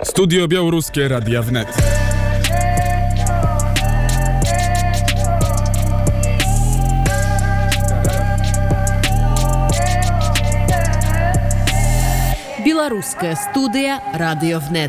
Studio Białoruskie Radia Wnet. Білоруська студія Радіо ВНЕТ.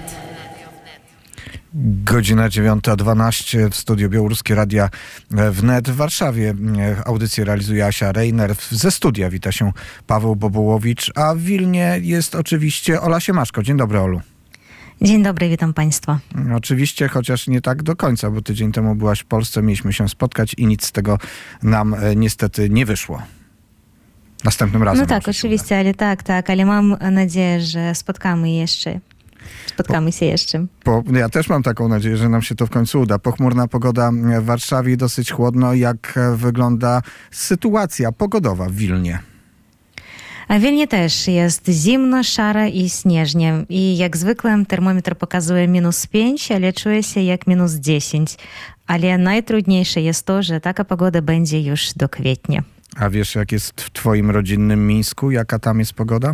Godzina 9:12 w studiu Białoruskie Radia Wnet w Warszawie. Audycję realizuje Asia Reiner. Ze studia wita się Paweł Bobołowicz, a w Wilnie jest oczywiście Ola Siemaszko. Dzień dobry, Olu. Dzień dobry, witam Państwa. Oczywiście, chociaż nie tak do końca, bo tydzień temu byłaś w Polsce, mieliśmy się spotkać i nic z tego nam niestety nie wyszło. Następnym razem. No tak, oczywiście, ale mam nadzieję, że spotkamy się jeszcze. Ja też mam taką nadzieję, że nam się to w końcu uda. Pochmurna pogoda w Warszawie, dosyć chłodno. Jak wygląda sytuacja pogodowa w Wilnie? A w Wilnie też jest zimno, szaro i śnieżnie. I jak zwykle termometr pokazuje -5, ale czuję się jak -10. Ale najtrudniejsze jest to, że taka pogoda będzie już do kwietnia. A wiesz, jak jest w twoim rodzinnym Mińsku? Jaka tam jest pogoda?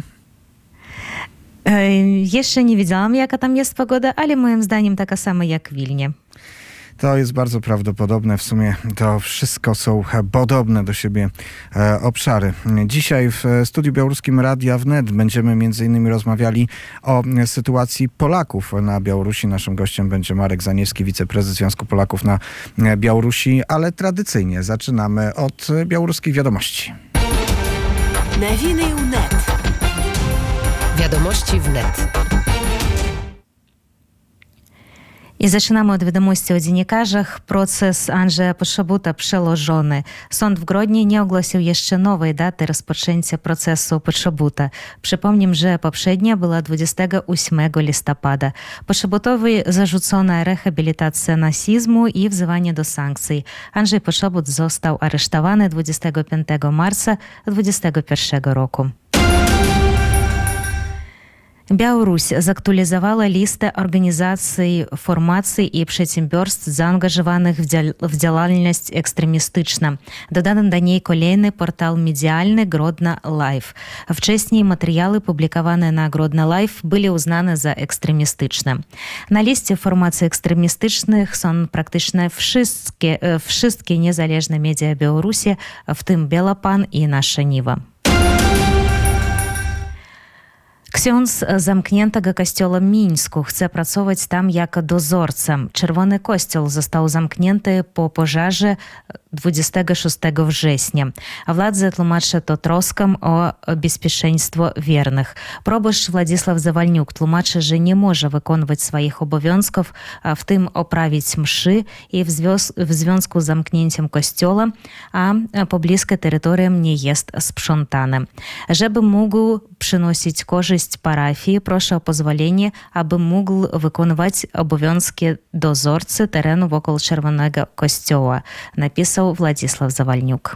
Jeszcze nie widziałam, jaka tam jest pogoda, ale moim zdaniem taka sama jak w Wilnie. To jest bardzo prawdopodobne. W sumie to wszystko są podobne do siebie obszary. Dzisiaj w studiu białoruskim Radia Wnet będziemy m.in. rozmawiali o sytuacji Polaków na Białorusi. Naszym gościem będzie Marek Zaniewski, wiceprezes Związku Polaków na Białorusi, ale tradycyjnie zaczynamy od białoruskich wiadomości. Nowiny wnet. Wiadomości wnet. I zaczynamy od wiadomości o dziennikarzach. Proces Andrzeja Poczobuta przełożony. Sąd w Grodnie nie ogłosił jeszcze nowej daty rozpoczęcia procesu Poczobuta. Przypomnę, że poprzednia była 28 listopada. Poczobutowi zarzucono rehabilitację nazizmu i wzywanie do sankcji. Andrzej Poczobut został aresztowany 25 marca 2021 roku. Białoruś zaktualizowała listę organizacji, formacji i przedsiębiorstw zaangażowanych w działalność ekstremistyczną. Dodano do niej kolejny portal medialny Grodno Live. Wcześniej materiały publikowane na Grodno Live były uznane za ekstremistyczne. Na liście formacji ekstremistycznych są praktycznie wszystkie niezależne media Białorusi, w tym Bielopan i Nasza Niwa. Ksiądz zamkniętego kościoła w Mińsku chce pracować tam jako dozorca. Czerwony Kościół został zamknięty po pożarze 26 września. Władze tłumaczą to troską o bezpieczeństwo wiernych. Proboszcz Władysław Zawalniuk tłumaczy, że nie może wykonywać swoich obowiązków, w tym oprawić mszy i w związku z zamknięciem kościoła, a pobliskie terytorium nie jest sprzątane. Żeby mógł przynosić korzyść parafii, proszę o pozwolenie, aby mógł wykonywać obowiązki dozorcy terenu wokół Czerwonego Kościoła, napisał Władysław Zawalniuk.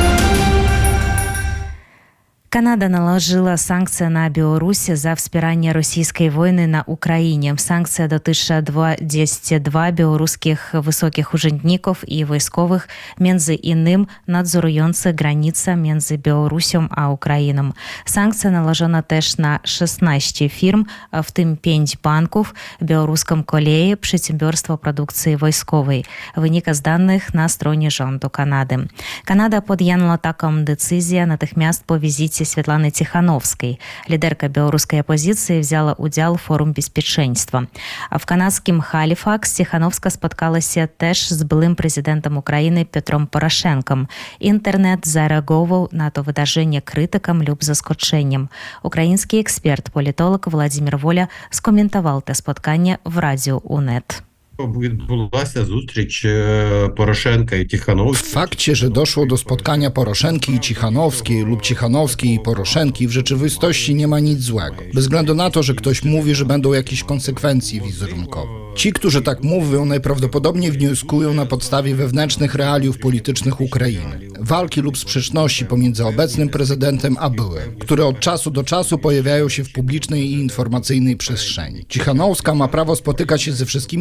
Kanada nałożyła sankcje na Białoruś za wspieranie rosyjskiej wojny na Ukrainie. Sankcja dotyczy 22 białoruskich wysokich urzędników i wojskowych, między innymi nadzorujących granicę między Białorusią a Ukrainą. Sankcje nałożono też na 16 firm, w tym 5 banków, białoruską koleję, przedsiębiorstwo produkcji wojskowej. Wynika z danych na stronie rządu Kanady. Kanada podjęła taką decyzję natychmiast po wizycie Святланы Тихановской. Лидерка белорусской оппозиции взяла удел в форум безопасности. А в канадском Халифакс Тихановска споткалася теж з былым президентом Украины Петром Порошенком. Интернет зареагував на то выдажение критикам люб заскоченням. Украинский эксперт, политолог Владимир Воля скоментовал те споткання в радіо УНЕТ. Відбулася зустріч Порошенка i Tichanowskiej. W fakcie, że doszło do spotkania Poroszenki i Tichanowskiej lub Tichanowskiej i Poroszenki, w rzeczywistości nie ma nic złego. Bez względu na to, że ktoś mówi, że będą jakieś konsekwencje wizerunkowe. Ci, którzy tak mówią, najprawdopodobniej wnioskują na podstawie wewnętrznych realiów politycznych Ukrainy. Walki lub sprzeczności pomiędzy obecnym prezydentem a byłym, które od czasu do czasu pojawiają się w publicznej i informacyjnej przestrzeni. Tichanowska ma prawo spotykać się ze wszystkimi przedstawicielami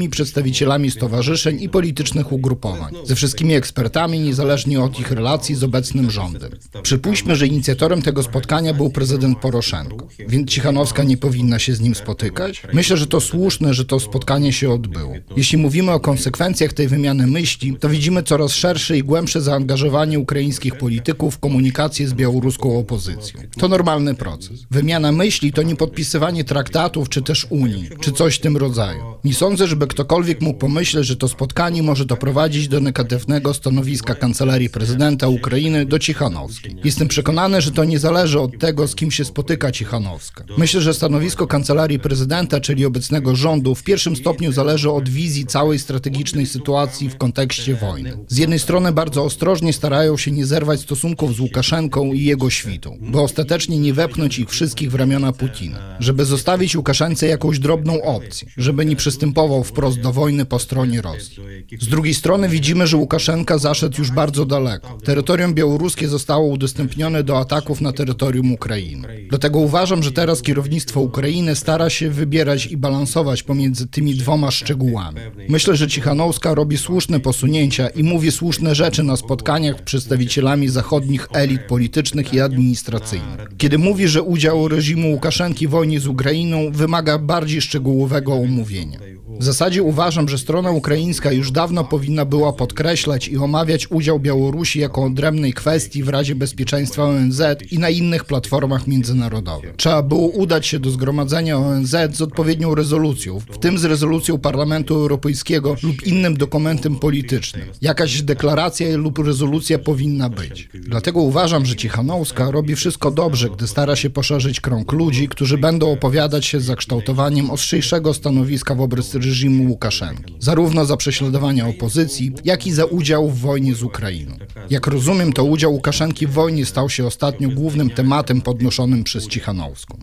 przedstawicielami stowarzyszeń i politycznych ugrupowań, ze wszystkimi ekspertami, niezależnie od ich relacji z obecnym rządem. Przypuśćmy, że inicjatorem tego spotkania był prezydent Poroszenko, więc Cichanowska nie powinna się z nim spotykać? Myślę, że to słuszne, że to spotkanie się odbyło. Jeśli mówimy o konsekwencjach tej wymiany myśli, to widzimy coraz szersze i głębsze zaangażowanie ukraińskich polityków w komunikację z białoruską opozycją. To normalny proces. Wymiana myśli to nie podpisywanie traktatów czy też Unii, czy coś w tym rodzaju. Nie sądzę, żeby ktokolwiek mógł pomyśleć, że to spotkanie może doprowadzić do negatywnego stanowiska Kancelarii Prezydenta Ukrainy do Cichanowskiej. Jestem przekonany, że to nie zależy od tego, z kim się spotyka Cichanowska. Myślę, że stanowisko Kancelarii Prezydenta, czyli obecnego rządu, w pierwszym stopniu zależy od wizji całej strategicznej sytuacji w kontekście wojny. Z jednej strony bardzo ostrożnie starają się nie zerwać stosunków z Łukaszenką i jego świtą, by ostatecznie nie wepchnąć ich wszystkich w ramiona Putina, żeby zostawić Łukaszence jakąś drobną opcję, żeby nie przystępował wprost do wojny po stronie Rosji. Z drugiej strony widzimy, że Łukaszenka zaszedł już bardzo daleko. Terytorium białoruskie zostało udostępnione do ataków na terytorium Ukrainy. Dlatego uważam, że teraz kierownictwo Ukrainy stara się wybierać i balansować pomiędzy tymi dwoma szczegółami. Myślę, że Cichanowska robi słuszne posunięcia i mówi słuszne rzeczy na spotkaniach z przedstawicielami zachodnich elit politycznych i administracyjnych. Kiedy mówi, że udział reżimu Łukaszenki w wojnie z Ukrainą wymaga bardziej szczegółowego omówienia. W zasadzie uważam, że strona ukraińska już dawno powinna była podkreślać i omawiać udział Białorusi jako odrębnej kwestii w Radzie Bezpieczeństwa ONZ i na innych platformach międzynarodowych. Trzeba było udać się do zgromadzenia ONZ z odpowiednią rezolucją, w tym z rezolucją Parlamentu Europejskiego lub innym dokumentem politycznym. Jakaś deklaracja lub rezolucja powinna być. Dlatego uważam, że Cichanowska robi wszystko dobrze, gdy stara się poszerzyć krąg ludzi, którzy będą opowiadać się za kształtowaniem ostrzejszego stanowiska wobec reżimu Łukaszenki, zarówno za prześladowania opozycji, jak i za udział w wojnie z Ukrainą. Jak rozumiem, to udział Łukaszenki w wojnie stał się ostatnio głównym tematem podnoszonym przez Cichanowską.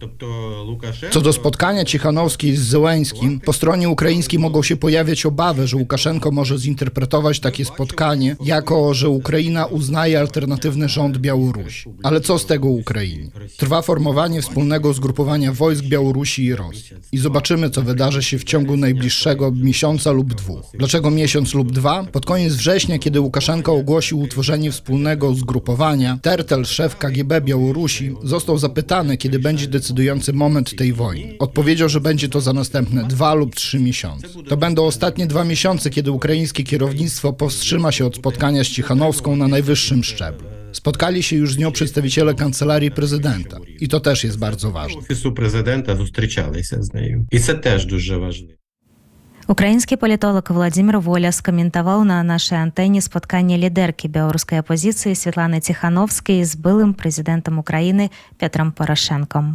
Co do spotkania Cichanowskiej z Zełenskim, po stronie ukraińskiej mogą się pojawiać obawy, że Łukaszenko może zinterpretować takie spotkanie jako, że Ukraina uznaje alternatywny rząd Białorusi. Ale co z tego Ukrainie? Trwa formowanie wspólnego zgrupowania wojsk Białorusi i Rosji. I zobaczymy, co wydarzy się w ciągu najbliższego miesiąca lub dwóch. Dlaczego miesiąc lub dwa? Pod koniec września, kiedy Łukaszenko ogłosił utworzenie wspólnego zgrupowania, Tertel, szef KGB Białorusi, został zapytany, kiedy będzie decydujący moment tej wojny. Odpowiedział, że będzie to za następne 2 lub 3 miesiące. To będą ostatnie 2 miesiące, kiedy ukraińskie kierownictwo powstrzyma się od spotkania z Cichanowską na najwyższym szczeblu. Spotkali się już z nią przedstawiciele Kancelarii Prezydenta. I to też jest bardzo ważne. Офісу президента зустрічалися з нею. І це теж дуже важливо. Украинский политолог Владимир Воля скомментовал на нашей антенне споткание лидерки белорусской оппозиции Светланы Тихановской с былым президентом Украины Петром Порошенком.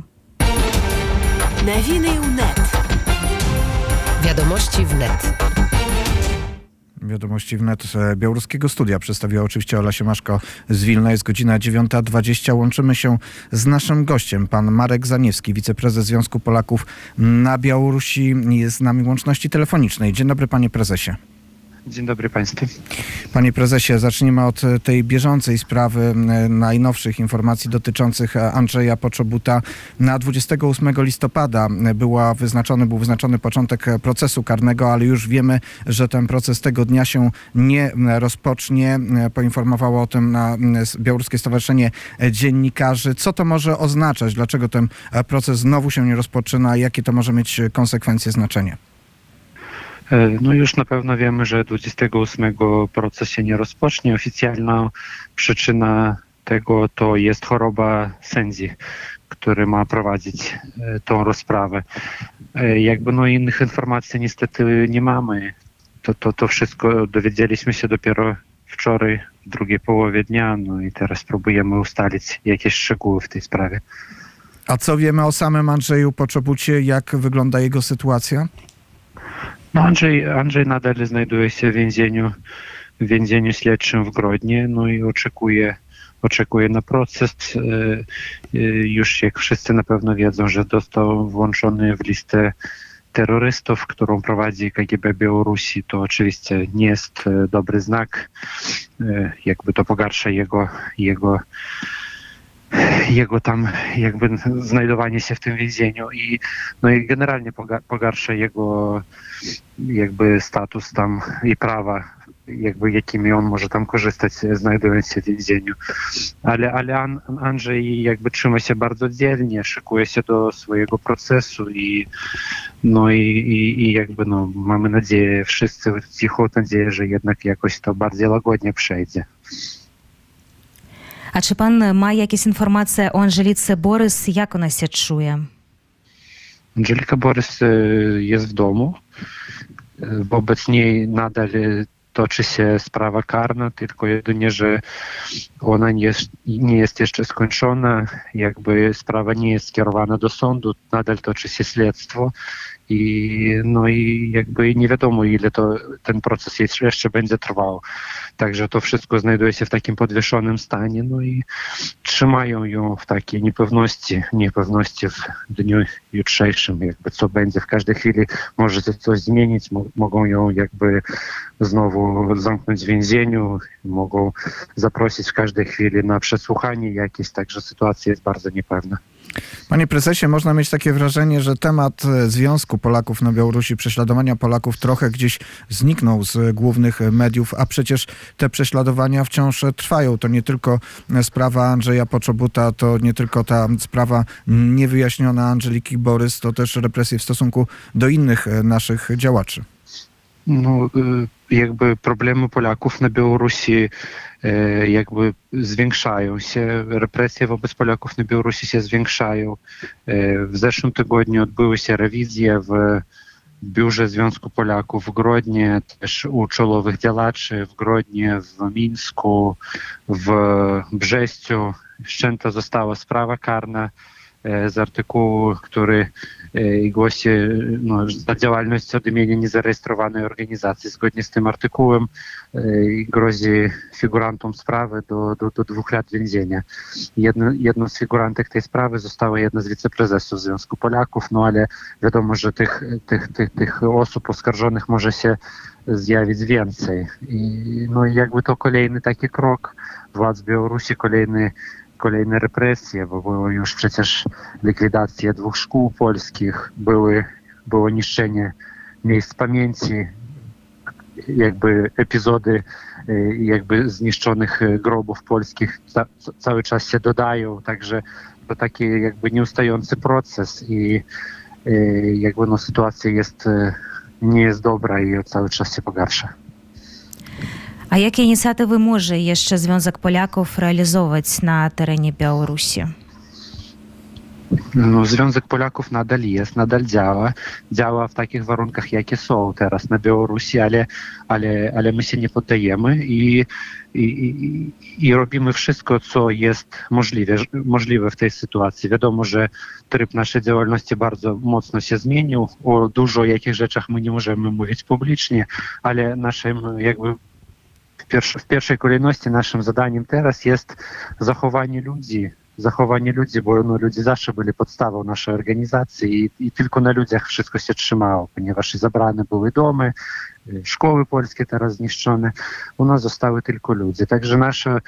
Новини УНЕТ. Wiadomości wnet. Wiadomości wnet Białoruskiego Studia przedstawiła oczywiście Ola Siemaszko z Wilna. Jest godzina 9:20. Łączymy się z naszym gościem, pan Marek Zaniewski, wiceprezes Związku Polaków na Białorusi. Jest z nami w łączności telefonicznej. Dzień dobry, panie prezesie. Dzień dobry Państwu. Panie prezesie, zacznijmy od tej bieżącej sprawy, najnowszych informacji dotyczących Andrzeja Poczobuta. Na 28 listopada był wyznaczony początek procesu karnego, ale już wiemy, że ten proces tego dnia się nie rozpocznie. Poinformowało o tym Białoruskie Stowarzyszenie Dziennikarzy. Co to może oznaczać? Dlaczego ten proces znowu się nie rozpoczyna? Jakie to może mieć konsekwencje, znaczenie? No już na pewno wiemy, że 28 proces się nie rozpocznie. Oficjalna przyczyna tego to jest choroba sędzi, który ma prowadzić tą rozprawę. Innych informacji niestety nie mamy. To wszystko dowiedzieliśmy się dopiero wczoraj, w drugiej połowie dnia, no i teraz próbujemy ustalić jakieś szczegóły w tej sprawie. A co wiemy o samym Andrzeju Poczobucie? Jak wygląda jego sytuacja? No Andrzej nadal znajduje się w więzieniu śledczym w Grodnie, no i oczekuje na proces. Już jak wszyscy na pewno wiedzą, że został włączony w listę terrorystów, którą prowadzi KGB Białorusi. To oczywiście nie jest dobry znak. To pogarsza jego jego tam jakby znajdowanie się w tym więzieniu i no i generalnie pogarsza jego jakby status tam i prawa, jakby jakimi on może tam korzystać, znajdując się w więzieniu. Ale Andrzej jakby trzyma się bardzo dzielnie, szykuje się do swojego procesu i jakby no mamy nadzieję, wszyscy cichą nadzieję, że jednak jakoś to bardziej łagodnie przejdzie. А чи пан має якісь інформації о Анжеліці Борис, як вона себе чує? Angelika Borys jest w domu. Wobec niej nadal toczy się sprawa karna, tylko jedynie, że ona nie jest jeszcze skończona, jakby sprawa nie jest skierowana do sądu, nadal toczy się śledztwo i jakby nie wiadomo, ile ten proces jeszcze będzie trwał. Także to wszystko znajduje się w takim podwieszonym stanie, no i trzymają ją w takiej niepewności w dniu jutrzejszym, jakby co będzie. W każdej chwili może się coś zmienić, mogą ją jakby znowu zamknąć w więzieniu, mogą zaprosić w każdej chwili na przesłuchanie jakieś, także sytuacja jest bardzo niepewna. Panie prezesie, można mieć takie wrażenie, że temat związku Polaków na Białorusi, prześladowania Polaków trochę gdzieś zniknął z głównych mediów, a przecież te prześladowania wciąż trwają. To nie tylko sprawa Andrzeja Poczobuta, to nie tylko ta sprawa niewyjaśniona Angeliki Borys, to też represje w stosunku do innych naszych działaczy. No, jakby problemy Polaków na Białorusi jakby zwiększają się, represje wobec Polaków na Białorusi się zwiększają. W zeszłym tygodniu odbyły się rewizje w biurze Związku Polaków w Grodnie, też u czołowych działaczy w Grodnie, w Mińsku, w Brześciu. Wszczęta została sprawa karna z artykułu, który głosi za działalność od imienia niezarejestrowanej organizacji. Zgodnie z tym artykułem grozi figurantom sprawy do 2 lat więzienia. Jedną z figurantek tej sprawy została jedna z wiceprezesów Związku Polaków, no ale wiadomo, że tych osób oskarżonych może się zjawić więcej. I jakby to kolejny taki krok władz Białorusi, kolejne represje, bo było już przecież likwidacja 2 szkół polskich, było niszczenie miejsc pamięci, jakby epizody jakby zniszczonych grobów polskich cały czas się dodają, także to taki jakby nieustający proces i jakby sytuacja nie jest dobra i cały czas się pogarsza. А які ініціативи може jeszcze Związek Polaków realizować na terenie Białorusi? No, Związek Polaków nadal jest, nadal działa w takich warunkach, jakie są teraz na Białorusi, ale my się nie poddajemy i robimy wszystko, co jest możliwe w tej sytuacji. Wiadomo, że tryb naszej działalności bardzo mocno się zmienił, o dużo jakich rzeczach my nie możemy mówić publicznie, ale naszym jakby w pierwszej kolejności naszym zadaniem teraz jest zachowanie ludzi, bo ludzie zawsze byli podstawą naszej organizacji i tylko na ludziach wszystko się trzymało, ponieważ zabrane były domy, szkoły polskie teraz zniszczone, u nas zostały tylko ludzie. Także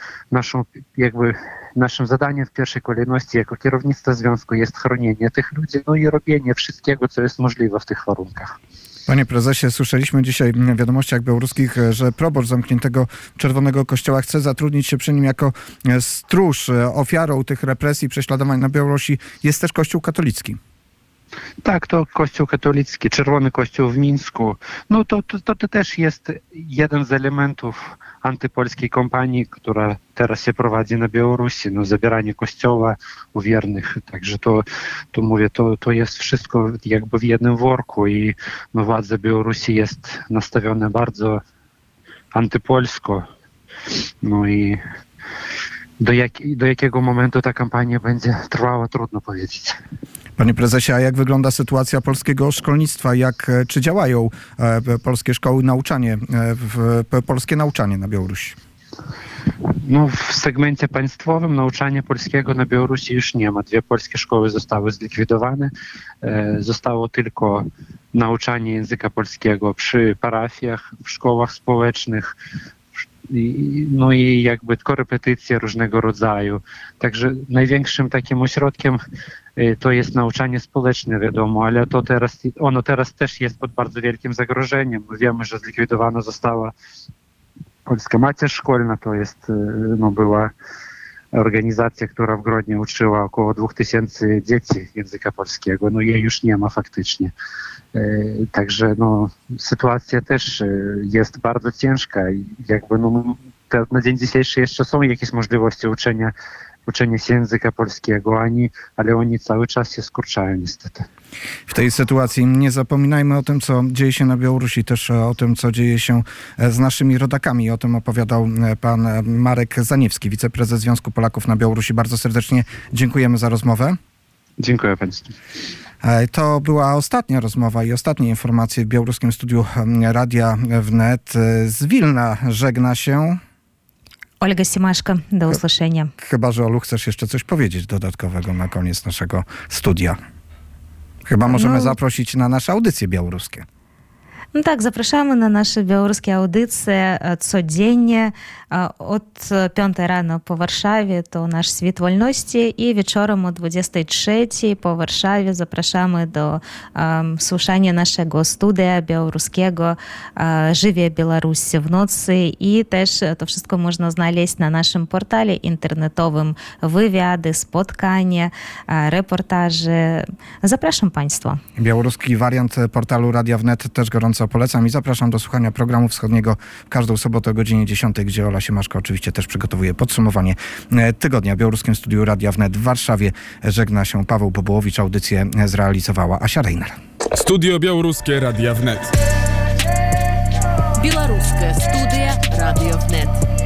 naszym zadaniem w pierwszej kolejności jako kierownictwa związku jest chronienie tych ludzi, no i robienie wszystkiego, co jest możliwe w tych warunkach. Panie prezesie, słyszeliśmy dzisiaj w wiadomościach białoruskich, że proboszcz zamkniętego Czerwonego Kościoła chce zatrudnić się przy nim jako stróż. Ofiarą tych represji, prześladowań na Białorusi jest też Kościół katolicki. Tak, to Kościół katolicki, Czerwony Kościół w Mińsku. No to też jest jeden z elementów antypolskiej kampanii, która teraz się prowadzi na Białorusi. Zabieranie kościoła u wiernych. Także to mówię, to jest wszystko jakby w jednym worku i władze Białorusi jest nastawione bardzo antypolsko. No i do jakiego momentu ta kampania będzie trwała, trudno powiedzieć. Panie prezesie, a jak wygląda sytuacja polskiego szkolnictwa? Czy działają polskie szkoły, polskie nauczanie na Białorusi? W segmencie państwowym nauczania polskiego na Białorusi już nie ma. 2 polskie szkoły zostały zlikwidowane. Zostało tylko nauczanie języka polskiego przy parafiach, w szkołach społecznych, no i jakby korepetycje różnego rodzaju. Także największym takim ośrodkiem to jest nauczanie społeczne, wiadomo, ale ono teraz też jest pod bardzo wielkim zagrożeniem. Wiemy, że zlikwidowana została Polska Macierz Szkolna, to jest, była organizacja, która w Grodnie uczyła około 2000 dzieci języka polskiego. No jej już nie ma faktycznie. Także sytuacja też jest bardzo ciężka i jakby na dzień dzisiejszy jeszcze są jakieś możliwości uczenia się języka polskiego, ale oni cały czas się skurczają niestety. W tej sytuacji nie zapominajmy o tym, co dzieje się na Białorusi, też o tym, co dzieje się z naszymi rodakami. O tym opowiadał pan Marek Zaniewski, wiceprezes Związku Polaków na Białorusi. Bardzo serdecznie dziękujemy za rozmowę. Dziękuję państwu. To była ostatnia rozmowa i ostatnie informacje w białoruskim studiu Radia Wnet. Z Wilna żegna się Olga Simaszko, do usłyszenia. Chyba że, Olu, chcesz jeszcze coś powiedzieć dodatkowego na koniec naszego studia. Chyba możemy zaprosić na nasze audycje białoruskie. No tak, zapraszamy na nasze białoruskie audycje codziennie od 5 rano po Warszawie to nasz Świt Wolności i wieczorem o 23 po Warszawie zapraszamy do słuchania naszego studia białoruskiego Żywie Białoruś w nocy i też to wszystko można znaleźć na naszym portale internetowym, wywiady, spotkania, reportaże. Zapraszam Państwa. Białoruski wariant portalu Radia Wnet też gorąco polecam i zapraszam do słuchania programu wschodniego w każdą sobotę o godzinie 10, gdzie Ola Siemaszko oczywiście też przygotowuje podsumowanie tygodnia. W białoruskim studiu Radia Wnet w Warszawie żegna się Paweł Bobołowicz. Audycję zrealizowała Asia Reiner. Studio Białoruskie Radia Wnet. Белорусская студия «Радио Внет».